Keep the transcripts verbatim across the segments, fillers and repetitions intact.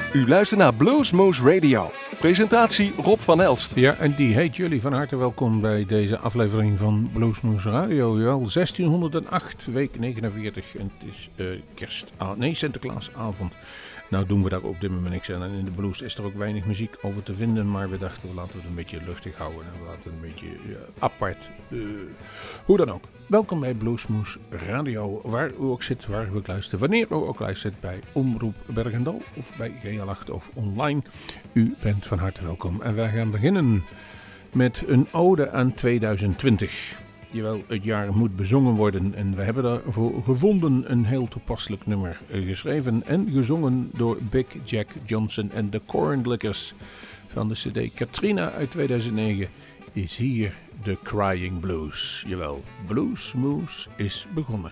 U luistert naar Bluesmoose Radio. Presentatie Rob van Elst. Ja, en die heet jullie van harte welkom bij deze aflevering van Bluesmoose Radio. Jawel, zestienhonderdacht, week negenenveertig. En het is uh, kerst, nee, Sinterklaasavond. Nou doen we daar op dit moment niks aan. En in de blues is er ook weinig muziek over te vinden. Maar we dachten, we laten het een beetje luchtig houden. En we laten het een beetje uh, apart. Uh, hoe dan ook. Welkom bij Bluesmoose Radio. Waar u ook zit, waar u ook luistert. Wanneer u ook luistert bij Omroep Bergendal. Of bij G L acht of online. U bent van harte welkom. En wij gaan beginnen met een ode aan tweeduizend twintig. Jawel, het jaar moet bezongen worden en we hebben daarvoor gevonden een heel toepasselijk nummer geschreven en gezongen door Big Jack Johnson en de Cornlickers. Van de cd Katrina uit tweeduizend negen is hier The Crying Blues. Jawel, Bluesmoose is begonnen.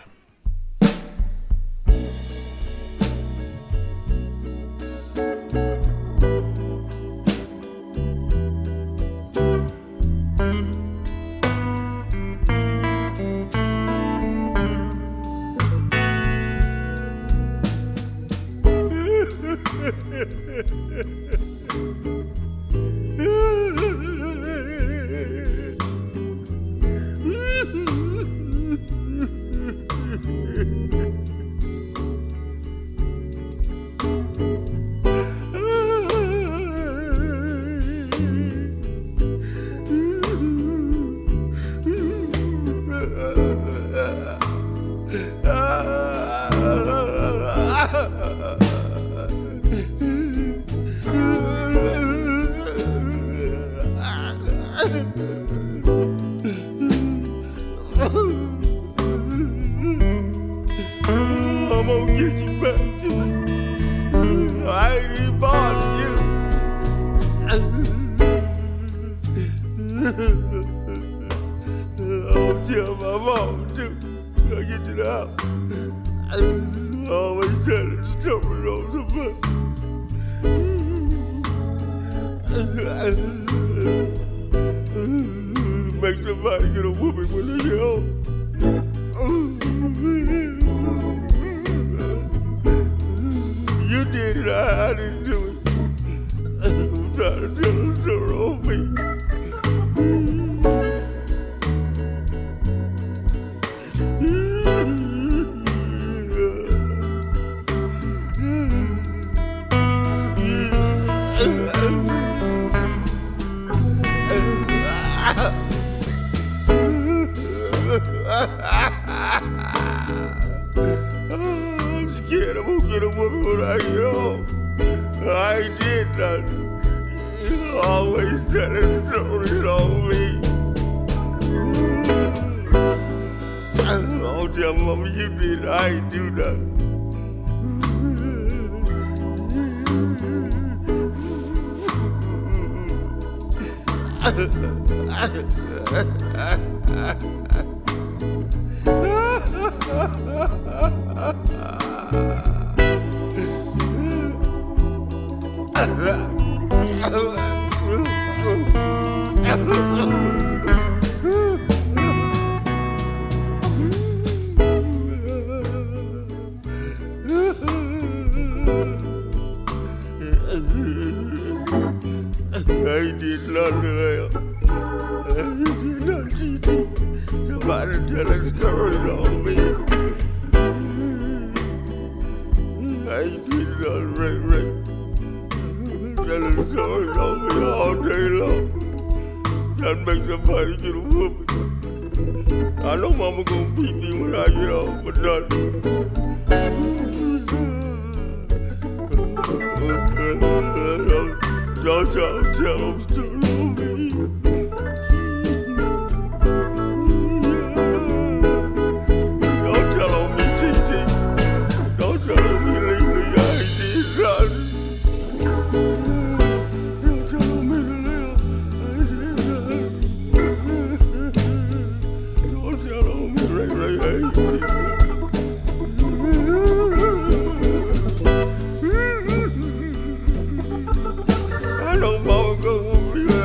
I know mama gonna be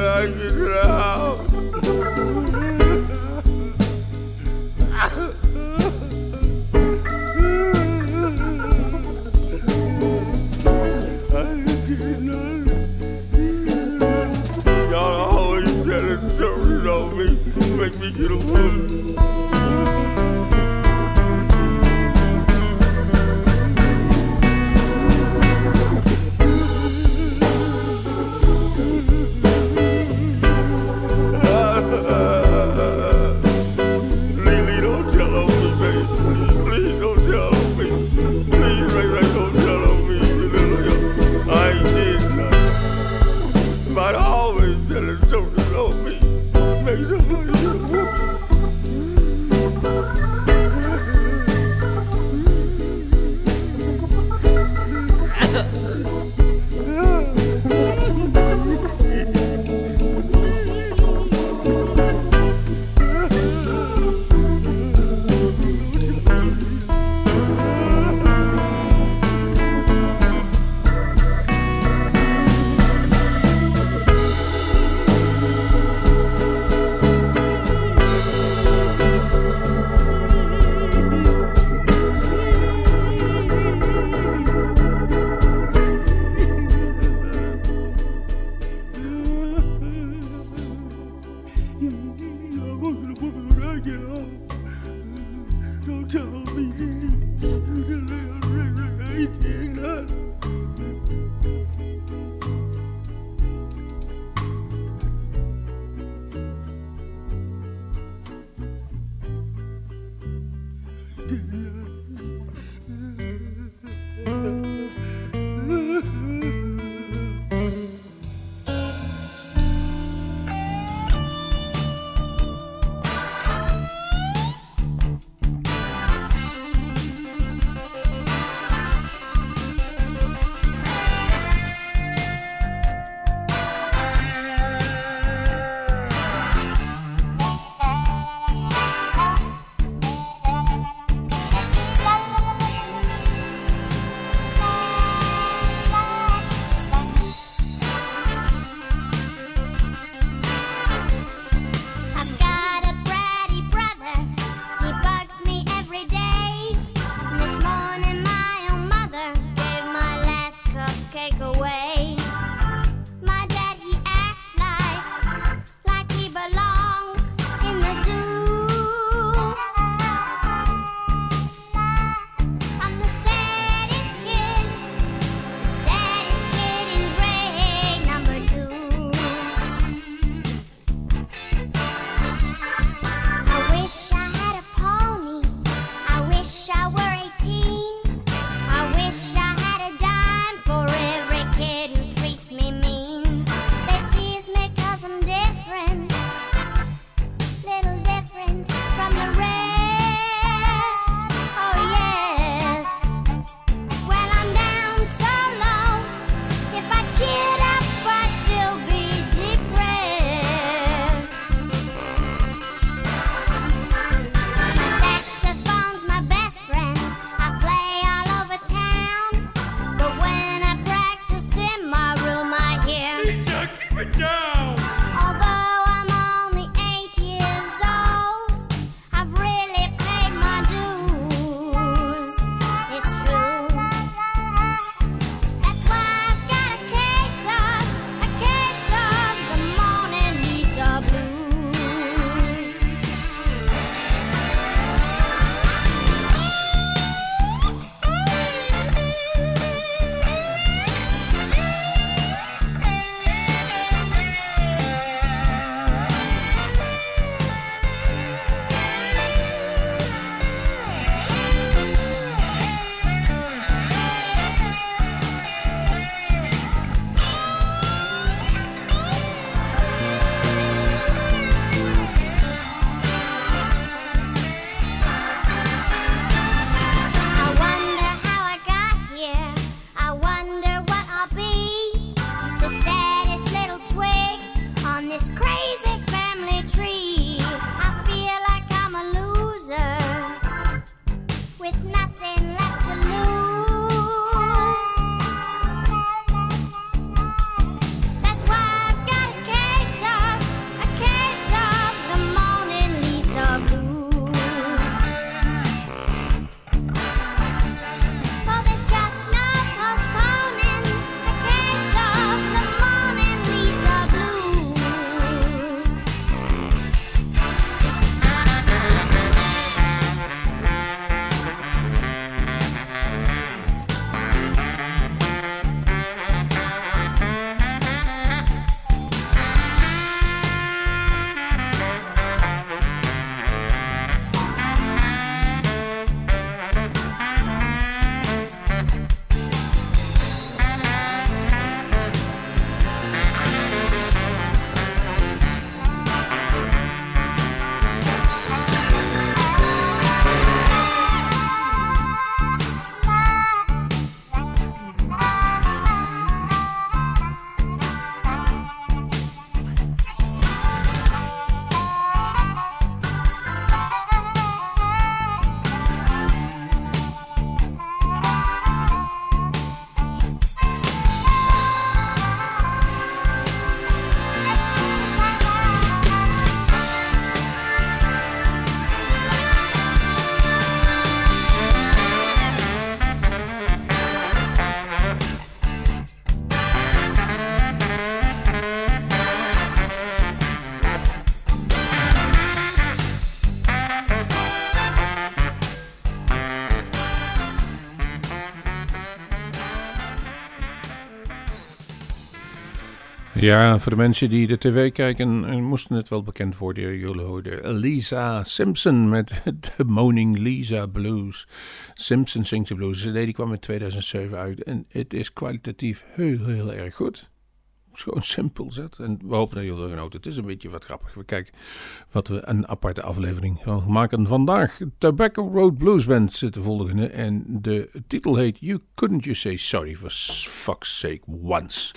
Ja, voor de mensen die de tv kijken, moesten het wel bekend worden. Jullie hoorden Lisa Simpson met de Moaning Lisa Blues. Simpson Sings the Blues. De C D die kwam in tweeduizend zeven uit en het is kwalitatief heel, heel erg goed. Het is gewoon simpel zet. En we hopen dat jullie genoten. Het is een beetje wat grappig. We kijken wat we een aparte aflevering gaan maken vandaag. Tobacco Road Blues Band zit de volgende. En de titel heet You Couldn't You Say Sorry For Fuck's Sake Once.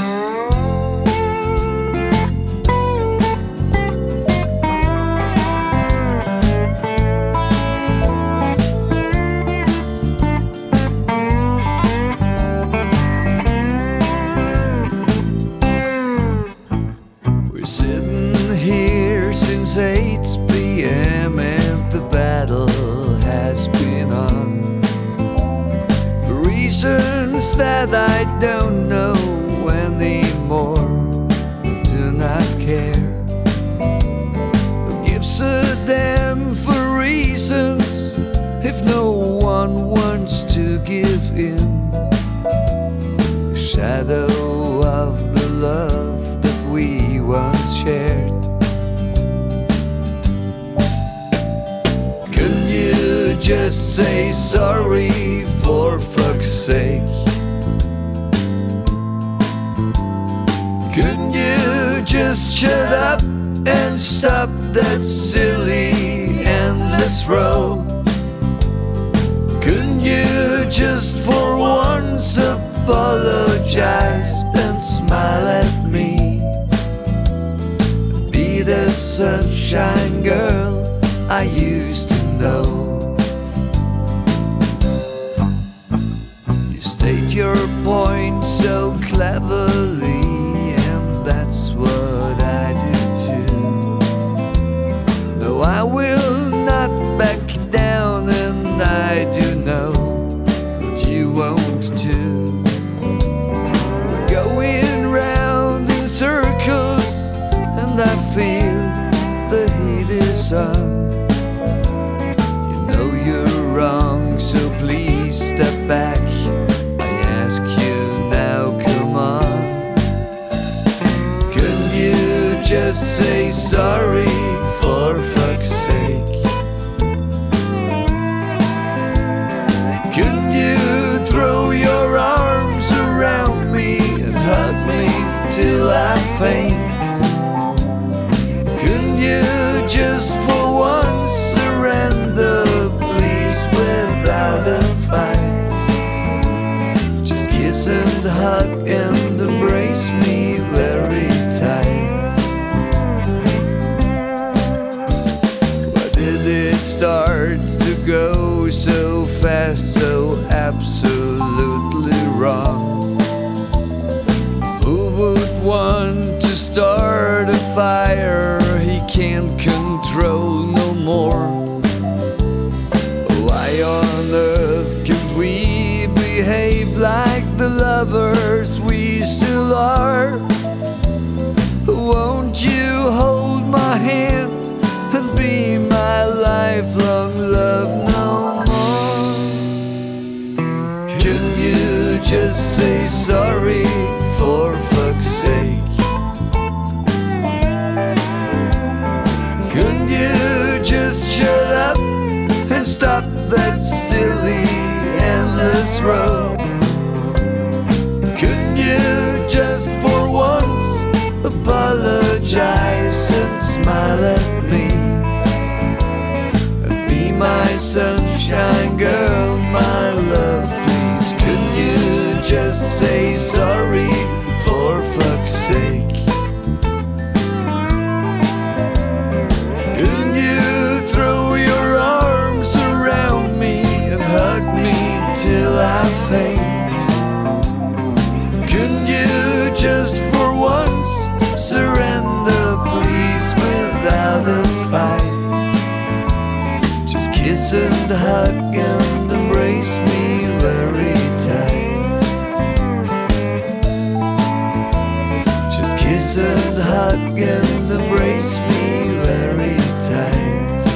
Since eight p.m. and the battle has been on, for reasons that I don't know anymore, do not care. Who gives a damn for reasons if no one wants to give in? The shadow of the love that we once shared. Just say sorry for fuck's sake. Couldn't you just shut up and stop that silly endless row? Couldn't you just for once apologize and smile at me? Be the sunshine girl I used to know. State your point so cleverly, and that's what I do too. No, I will not back down, and I do know that you won't too. We're going round in circles, and I feel the heat is on. You know you're wrong, so please step back. Just say sorry for fuck's sake. Couldn't you throw your arms around me and hug me till I faint? Couldn't you just for once surrender, please, without a fight? Just kiss and hug and embrace me very tight. Start to go so fast, so absolutely wrong. Who would want to start a fire he can't control no more? Why on earth can't we behave like the lovers we still are? Won't you hold my hand and be my lifelong love no more? Could you just say sorry for fuck's sake? Couldn't you just shut up and stop that silly endless row? Couldn't you just for once apologize and smile at me? My sunshine girl, my love, please. Couldn't you just say sorry for fuck's sake? Couldn't you throw your arms around me and hug me till I faint? Couldn't you just for once surrender, please, without a fight? Kiss and hug and embrace me very tight. Just kiss and hug and embrace me very tight.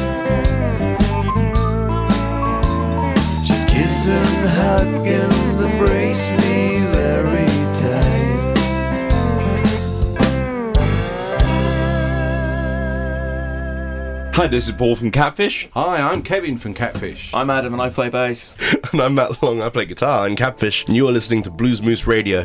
Just kiss and hug and embrace me very tight. Hi, this is Paul from Catfish. Hi, I'm Kevin from Catfish. I'm Adam and I play bass. And I'm Matt Long, I play guitar in Catfish, and you are listening to Blues Moose Radio.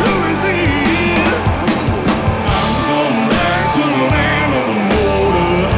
I'm going back to the land of the border.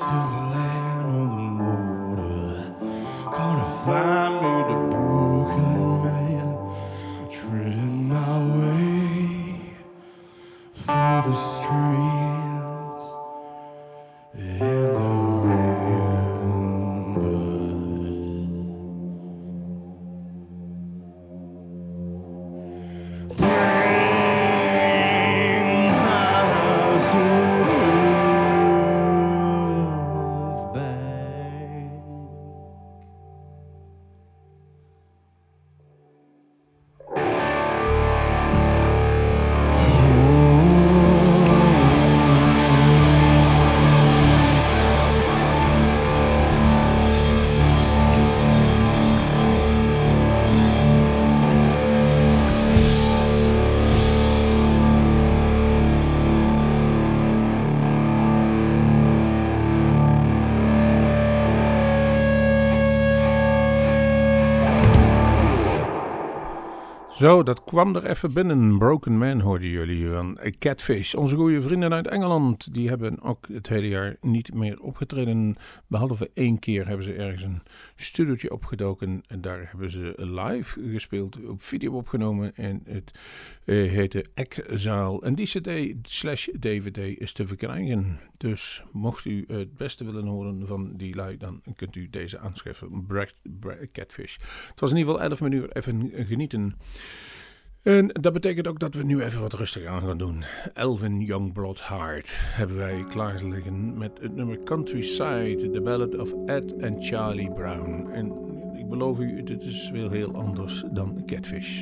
Zo, dat kwam er even binnen. Broken Man hoorden jullie van Catfish. Onze goede vrienden uit Engeland, die hebben ook het hele jaar niet meer opgetreden. Behalve één keer hebben ze ergens een studiootje opgedoken. En daar hebben ze live gespeeld, op video opgenomen. En het uh, heette Ekzaal. En die cd slash dvd is te verkrijgen. Dus mocht u het beste willen horen van die lui, dan kunt u deze aanschaffen. Bra- Bra- Catfish. Het was in ieder geval elf minuten even genieten. En dat betekent ook dat we nu even wat rustiger aan gaan doen. Elvin Youngblood Heart hebben wij klaar liggen met het nummer Countryside, The Ballad of Ed and Charlie Brown. En ik beloof u, dit is wel heel anders dan Catfish.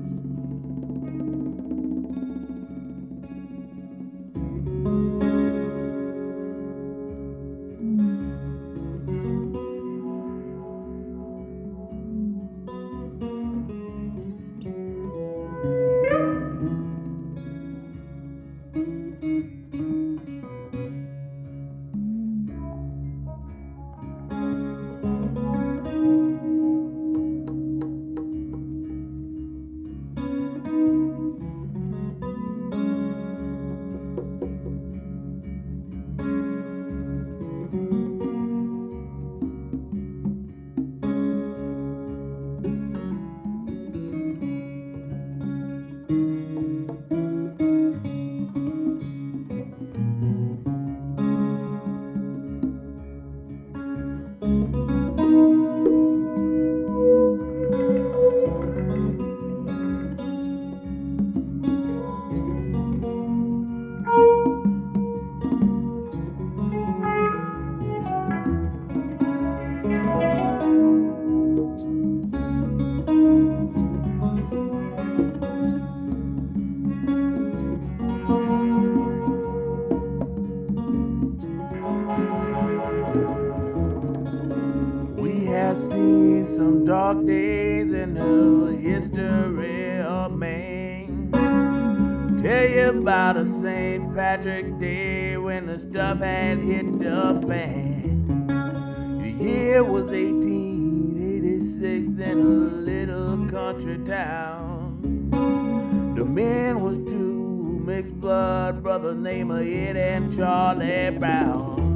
Dark days in the history of man. Tell you about a Saint Patrick Day when the stuff had hit the fan. The year was eighteen eighty-six in a little country town. The man was two mixed blood brothers named Ed and Charlie Brown.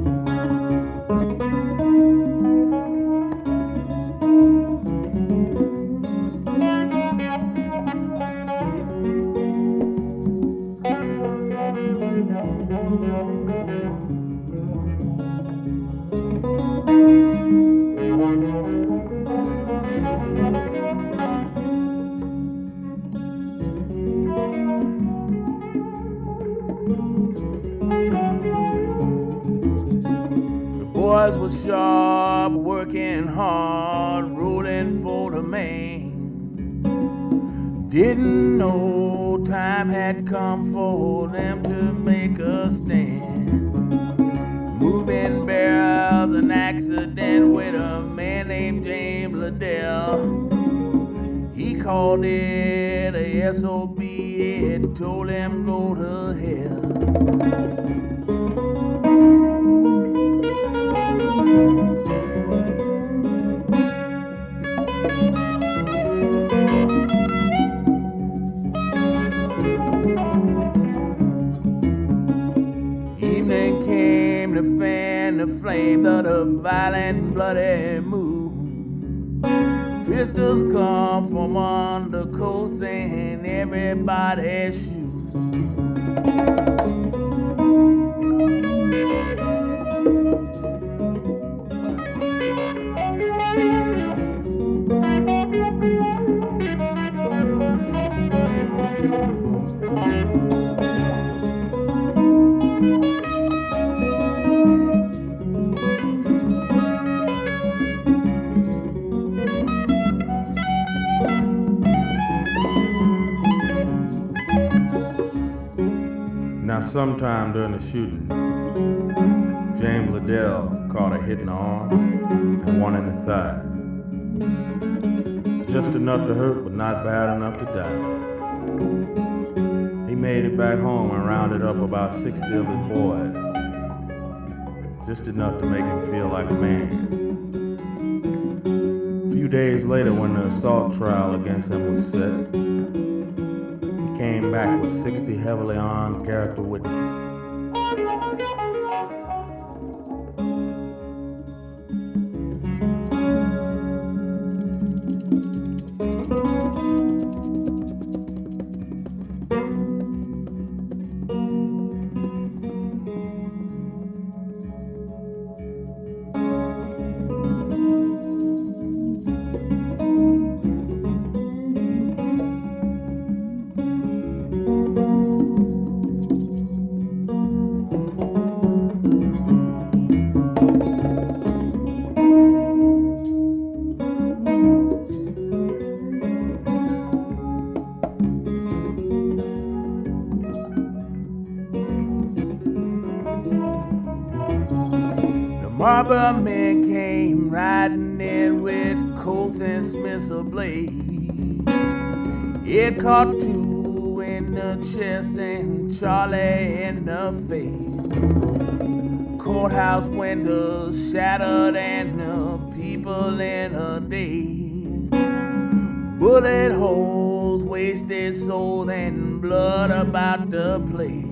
Boys was sharp, working hard, rolling for the main. Didn't know time had come for them to make a stand. Moving barrels, an accident with a man named James Liddell. He called it a S O B, it told him go to hell. Evening came, came to fan the flame of the violent, bloody moon. Pistols come from under coats and everybody's shoes. Now, sometime during the shooting, James Liddell caught a hit in the arm and one in the thigh. Just enough to hurt, but not bad enough to die. He made it back home and rounded up about sixty of his boys. Just enough to make him feel like a man. A few days later, when the assault trial against him was set, came back with sixty heavily armed character witnesses. Marlboro men came riding in with Colts and Smiths ablaze. It caught two in the chest and Charlie in the face. Courthouse windows shattered and the people in a daze. Bullet holes, wasted souls, and blood about the place.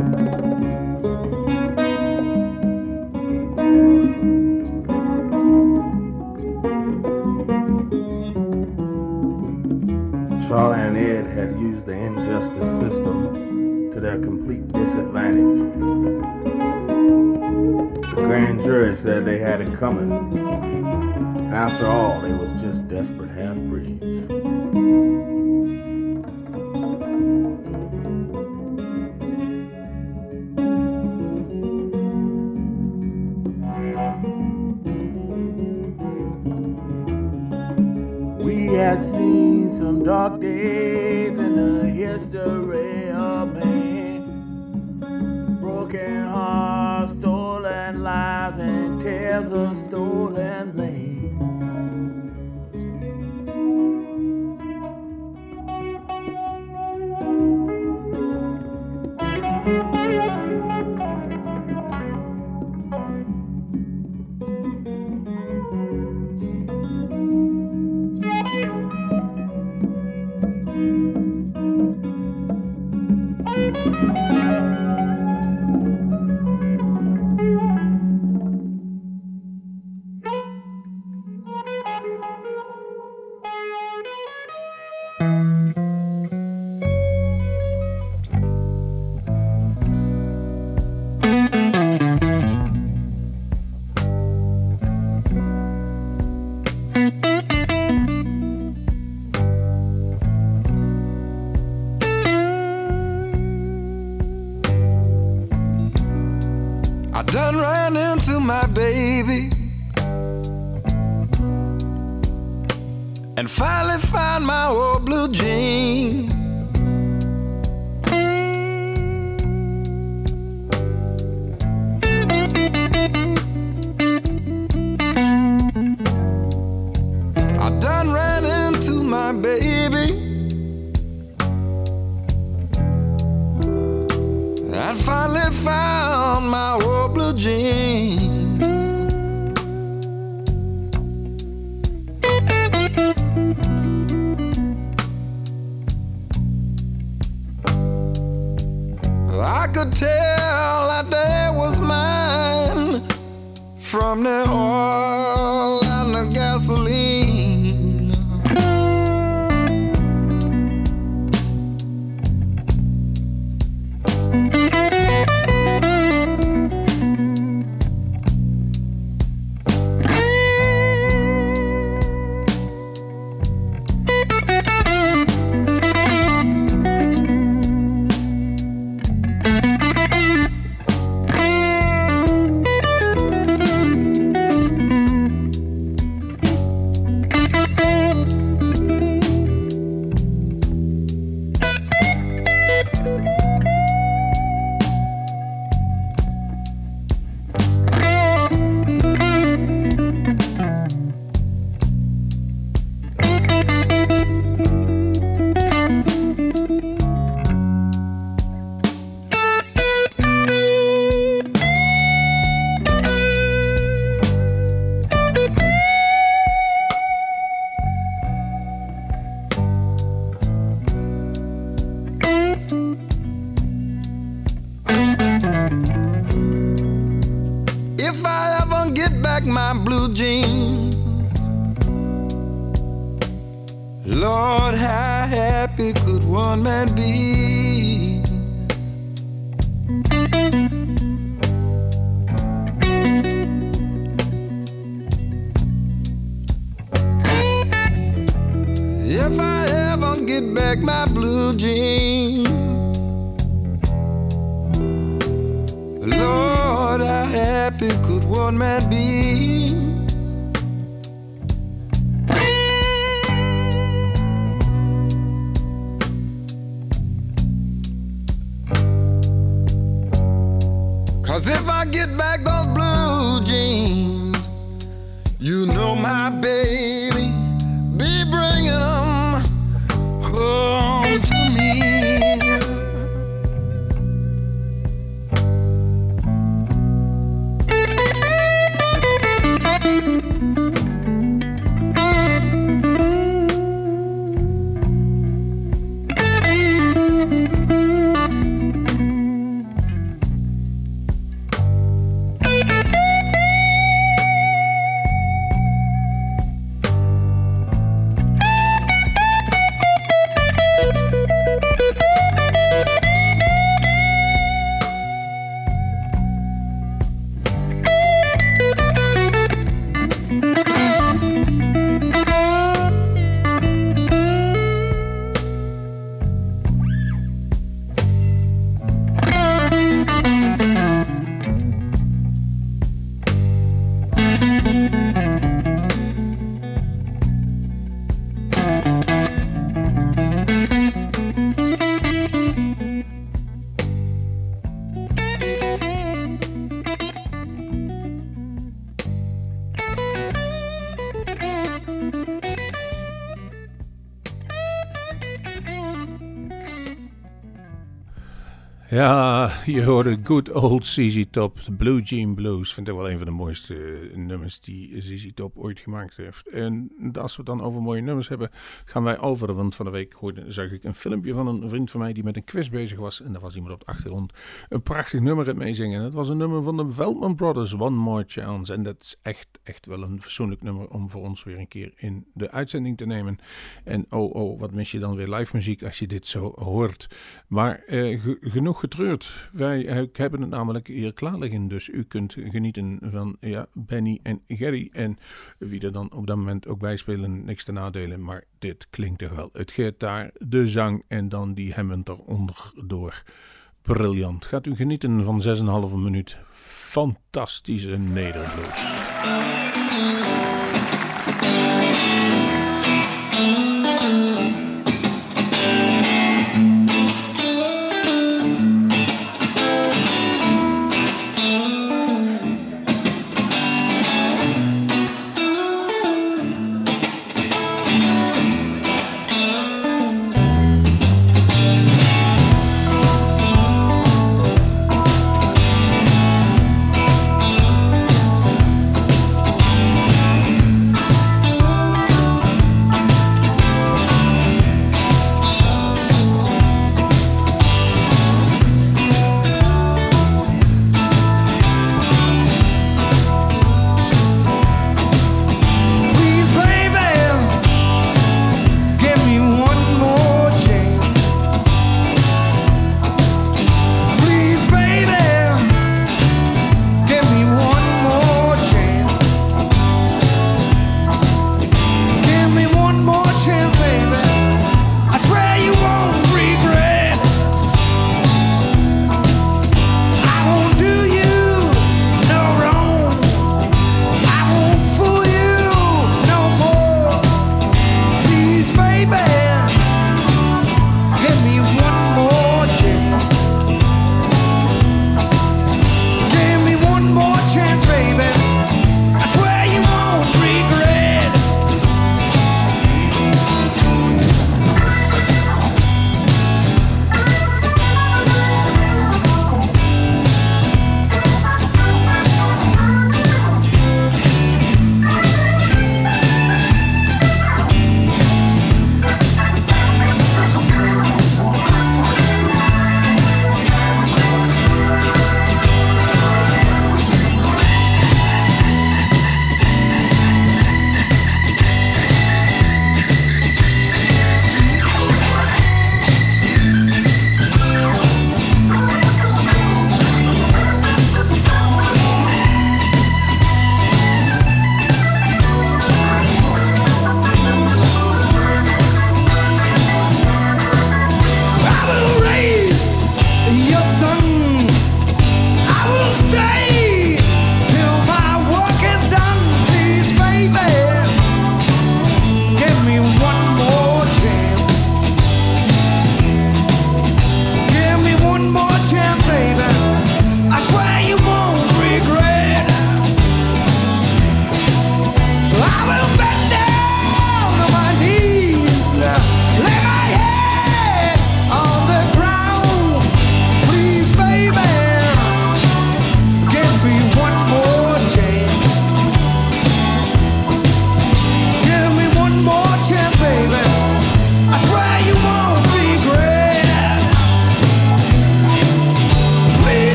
Charlie and Ed had used the injustice system to their complete disadvantage. The grand jury said they had it coming. After all, they was just desperate half-breeds. We have seen some dark days in the history of man. Broken hearts, stolen lives, and tales of stolen land. I done ran into my baby and finally found my old blue jeans. I done ran into my baby and finally found my old blue jeans. I could tell that day was mine from the oil and the gasoline. If I ever get back my blue jeans, Lord, how happy could one man be? If I ever get back my blue jeans, Lord, how happy could one man be? Cause if I get back those blue jeans, you know my baby be bringing them home to me. Ja, je hoorde Good Old Z Z Top, de Blue Jean Blues. Vind ik wel een van de mooiste uh, nummers die Z Z Top ooit gemaakt heeft. En als we het dan over mooie nummers hebben, gaan wij over. Want van de week hoorde, zag ik een filmpje van een vriend van mij die met een quiz bezig was. En daar was iemand op de achtergrond een prachtig nummer in meezingen. Dat was een nummer van de Veltman Brothers, One More Chance. En dat is echt, echt wel een fatsoenlijk nummer om voor ons weer een keer in de uitzending te nemen. En oh, oh, wat mis je dan weer live muziek als je dit zo hoort. Maar uh, g- genoeg getreurd. Wij uh, hebben het namelijk hier klaar liggen. Dus u kunt genieten van ja, Benny en Gerry. En wie er dan op dat moment ook bij spelen, niks te nadelen. Maar dit klinkt toch wel. Het gitaar, de zang en dan die Hammond eronder door. Briljant. Gaat u genieten van zes en een halve minuut. Fantastische Nederblues. Thank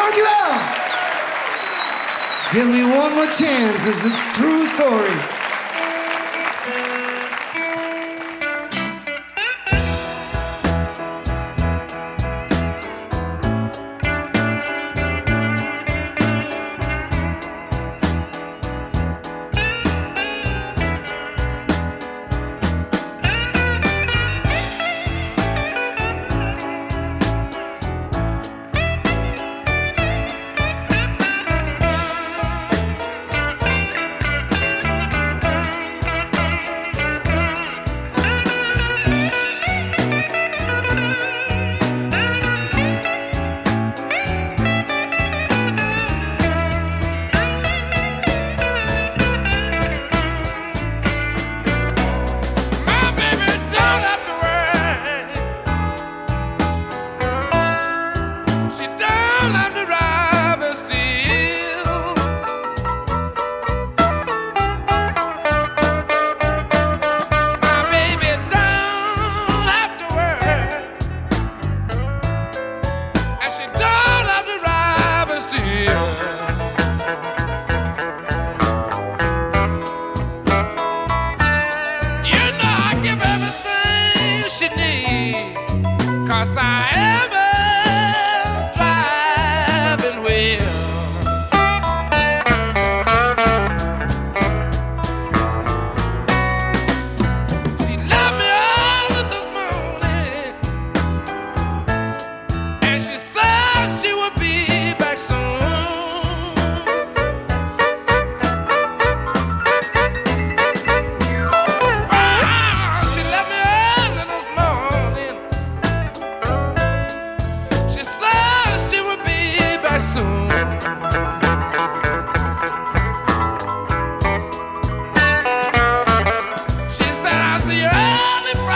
Dankjewel! Give me one more chance, this is a true story.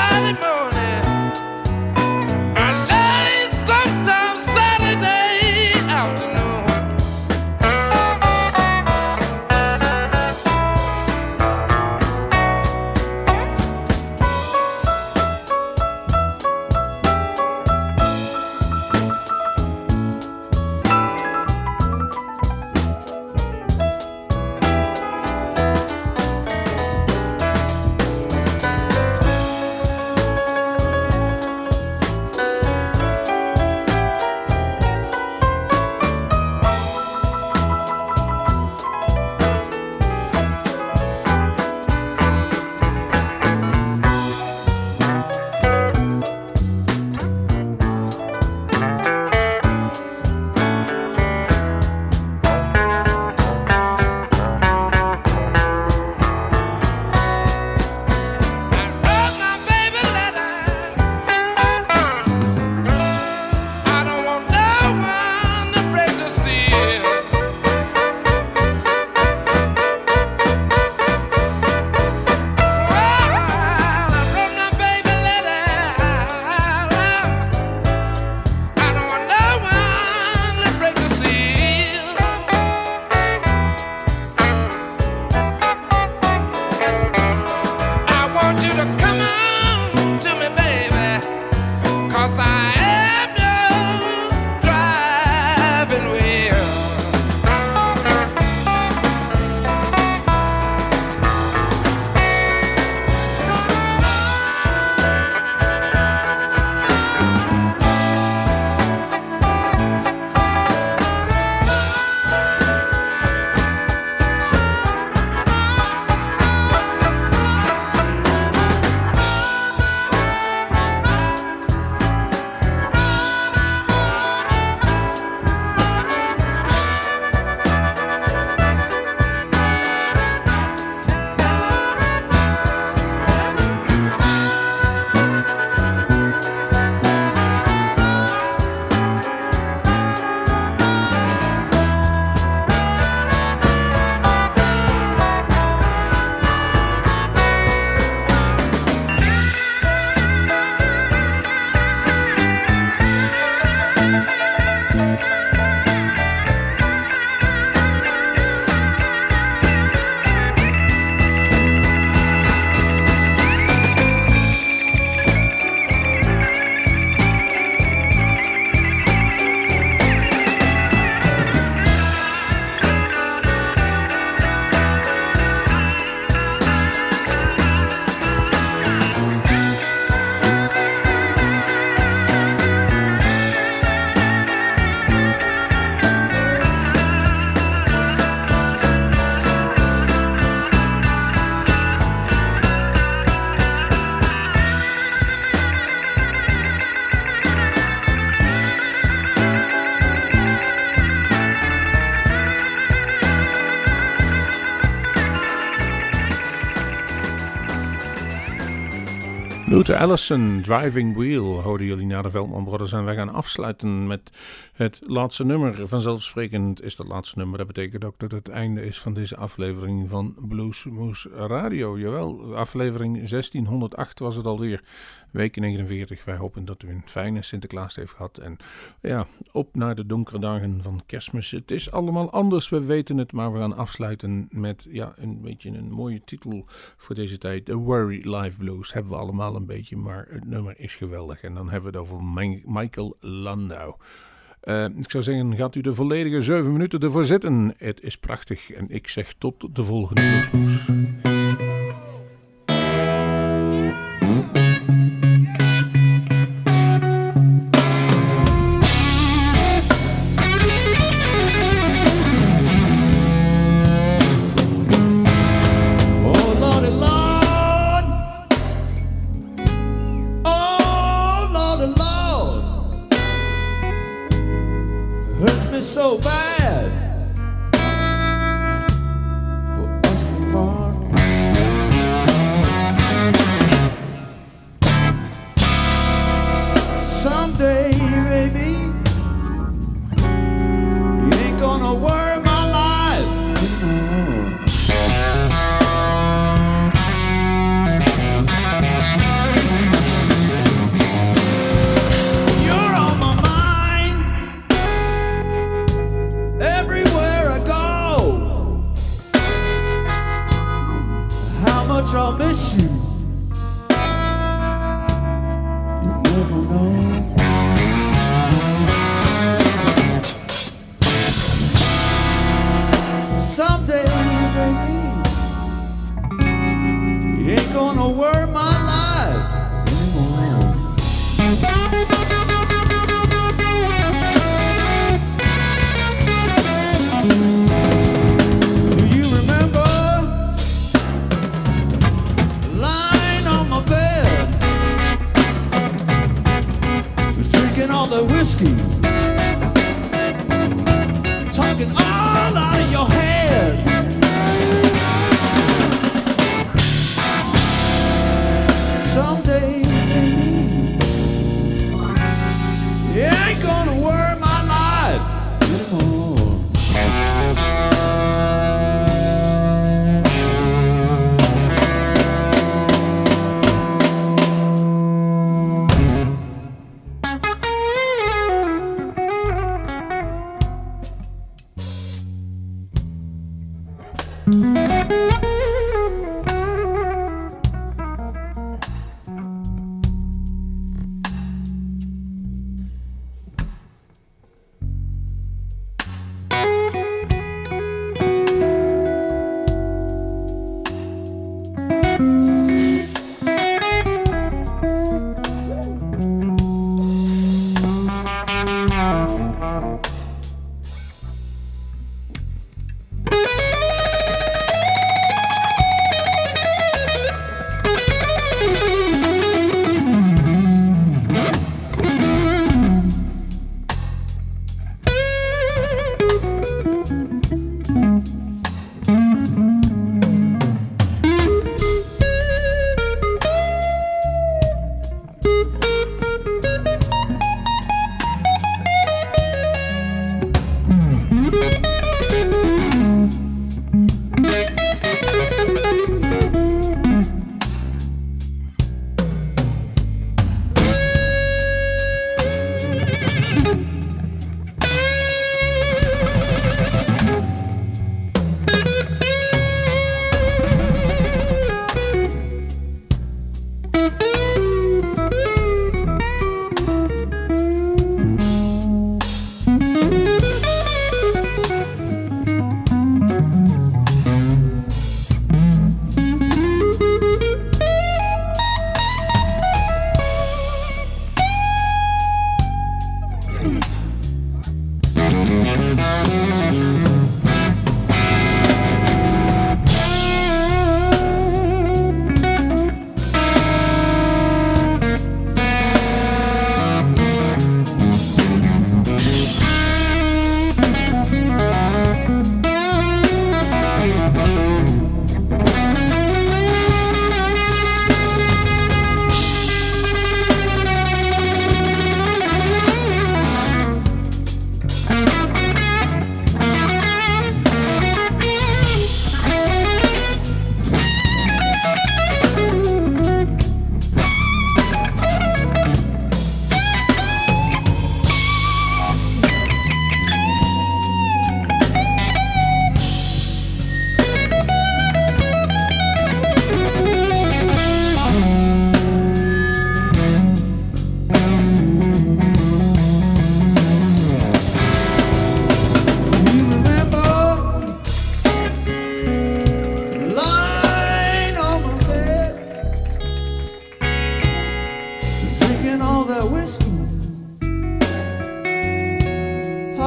Friday morning, or late sometimes Saturday. Luther Allison, Driving Wheel, hoorden jullie naar de Veldman Brothers. En wij gaan afsluiten met het laatste nummer. Vanzelfsprekend is dat laatste nummer. Dat betekent ook dat het einde is van deze aflevering van Bluesmoose Radio. Jawel, aflevering zestienhonderdacht was het alweer. Week negenenveertig. Wij hopen dat u een fijne Sinterklaas heeft gehad. En ja, op naar de donkere dagen van Kerstmis. Het is allemaal anders, we weten het. Maar we gaan afsluiten met ja, een beetje een mooie titel voor deze tijd. The Worry Live Blues. Hebben we allemaal een beetje, maar het nummer is geweldig. En dan hebben we het over Mi- Michael Landau. Uh, ik zou zeggen, gaat u de volledige zeven minuten ervoor zitten. Het is prachtig. En ik zeg tot de volgende Bluesmoes. So bad for us to part. Someday, baby, you ain't gonna worry my life anymore. You're on my mind everywhere I go. How much I'll miss you, you never know. Someday, baby, you ain't gonna worry my life anymore. Do you remember lying on my bed, drinking all the whiskey, talking all out of your head? Someday, you ain't gonna worry my life anymore.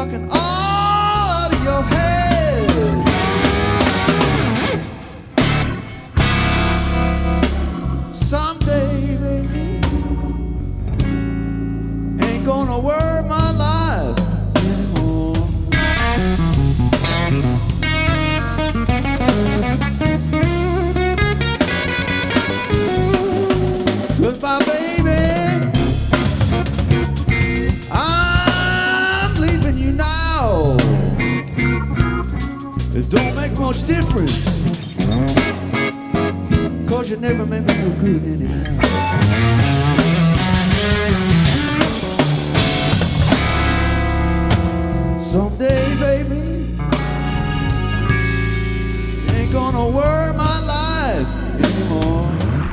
talking all out of your head. Someday, baby, ain't gonna worry my life anymore. Goodbye, baby, I'm leaving you now. It don't make much difference, 'cause you never made me feel good anyhow. Someday, baby, ain't gonna worry my life anymore.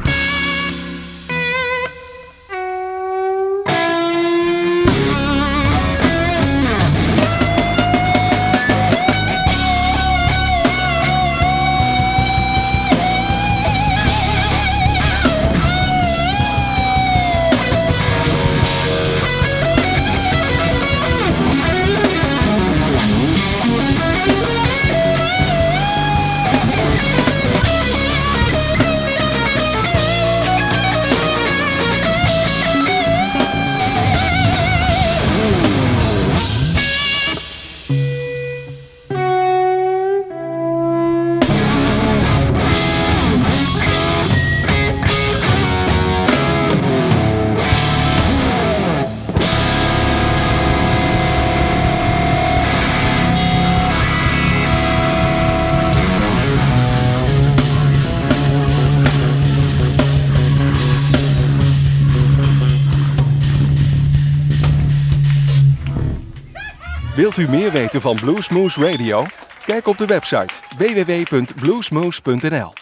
Wilt u meer weten van Bluesmoose Radio? Kijk op de website w w w punt bluesmoose punt n l.